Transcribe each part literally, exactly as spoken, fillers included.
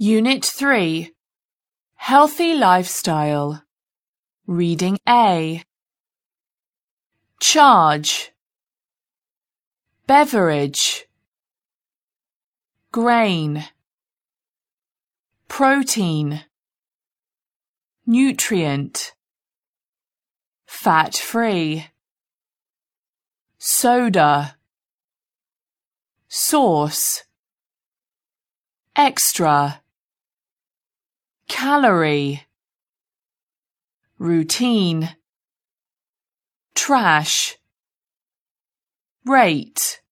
Unit three. Healthy Lifestyle. Reading A. Charge. Beverage. Grain. Protein. Nutrient. Fat-free. Soda. Sauce. Extra. Calorie. Routine. Trash. Rate.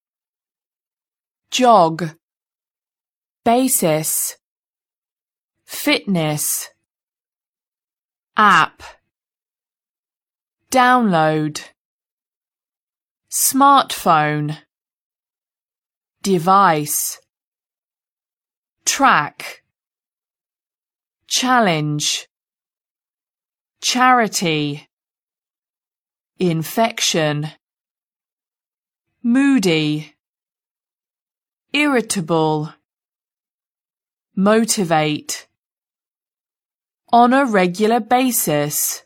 Jog. Basis. Fitness. App. Download. Smartphone. Device. Track. Challenge. Charity. Infection. Moody. Irritable. Motivate. On a regular basis.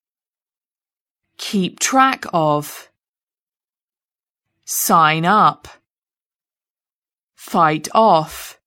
Keep track of. Sign up. Fight off.